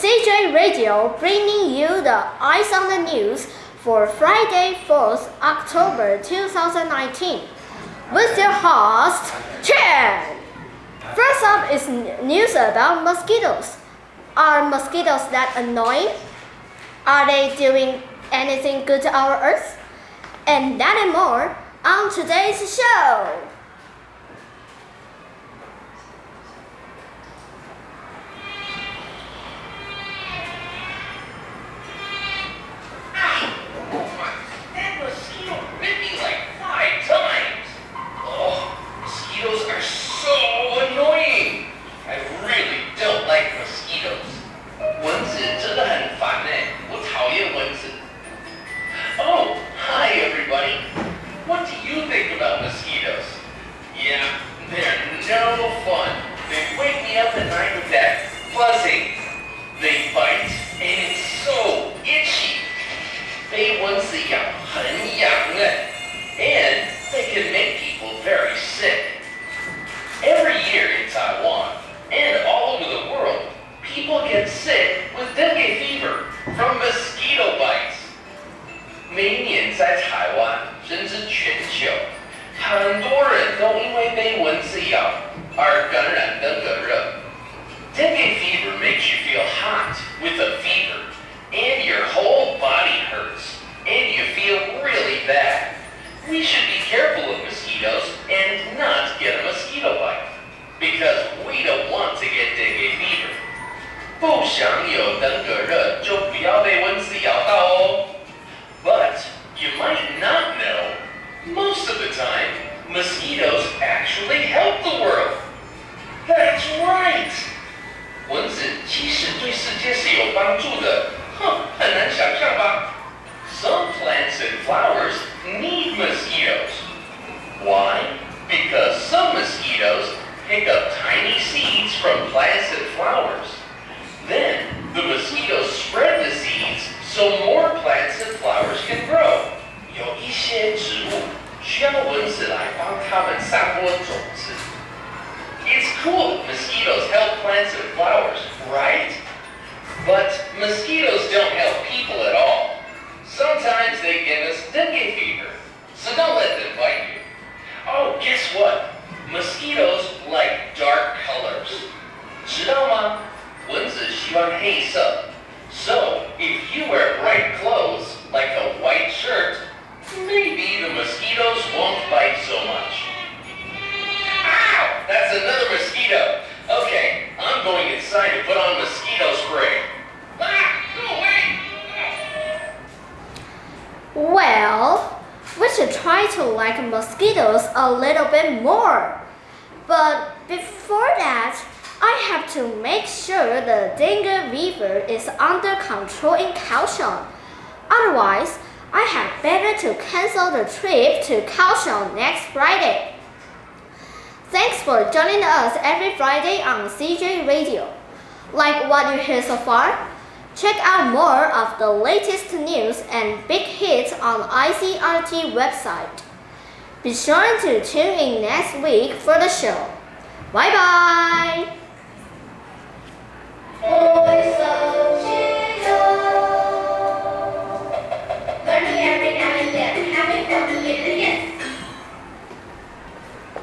CJ Radio bringing you the Eyes on the News for Friday, 4th October 2019 with your host, Chen. First up is news about mosquitoes. Are mosquitoes that annoying? Are they doing anything good to our Earth? And that and more on today's show. What do you think about mosquitoes? Yeah, they're no fun. They wake me up at night with that buzzing. They bite, and it's so itchy. 被蚊子咬很痒的 and they can make people very sick. Every year in Taiwan, and all over the world, people get sick with dengue fever from mosquito bites. 每一年在台湾甚至全球，很多人都因为被蚊子咬而感染登革热。Dengue fever makes you feel hot with a fever, and your whole body hurts, and you feel really bad. We should be careful of mosquitoes and not get a mosquito bite, because we don't want to get dengue fever. 不想有登革热就不要被蚊子咬到哦。But you might not know, most of the time, mosquitoes actually help the world. That's right! 蚊子其实对世界是有帮助的，很难想象吧？ Some plants and flowers need mosquitoes. Why? Because some mosquitoes pick up tiny seeds from plants and flowers. Then, the mosquitoes spread the seeds so more plants and flowers can grow. 有一些植物需要蚊子来帮它们散播种子。It's cool mosquitoes help plants and flowers, right? But mosquitoes don't help people at all. Sometimes they give us dengue fever, so don't let them bite you. Oh, guess what? Mosquitoes like dark colors. 知道吗？蚊子喜欢黑色。So, if you wear bright clothes, like a white shirt, maybe the mosquitoes won't bite so much. Ow! That's another mosquito! Okay, I'm going inside to put on mosquito spray. Ah! Go away! Well, we should try to like mosquitoes a little bit more. But before that, I have to make sure the dengue fever is under control in Kaohsiung. Otherwise, I have better to cancel the trip to Kaohsiung next Friday. Thanks for joining us every Friday on CJ Radio. Like what you hear so far? Check out more of the latest news and big hits on ICRT website. Be sure to tune in next week for the show. Bye bye! Voice of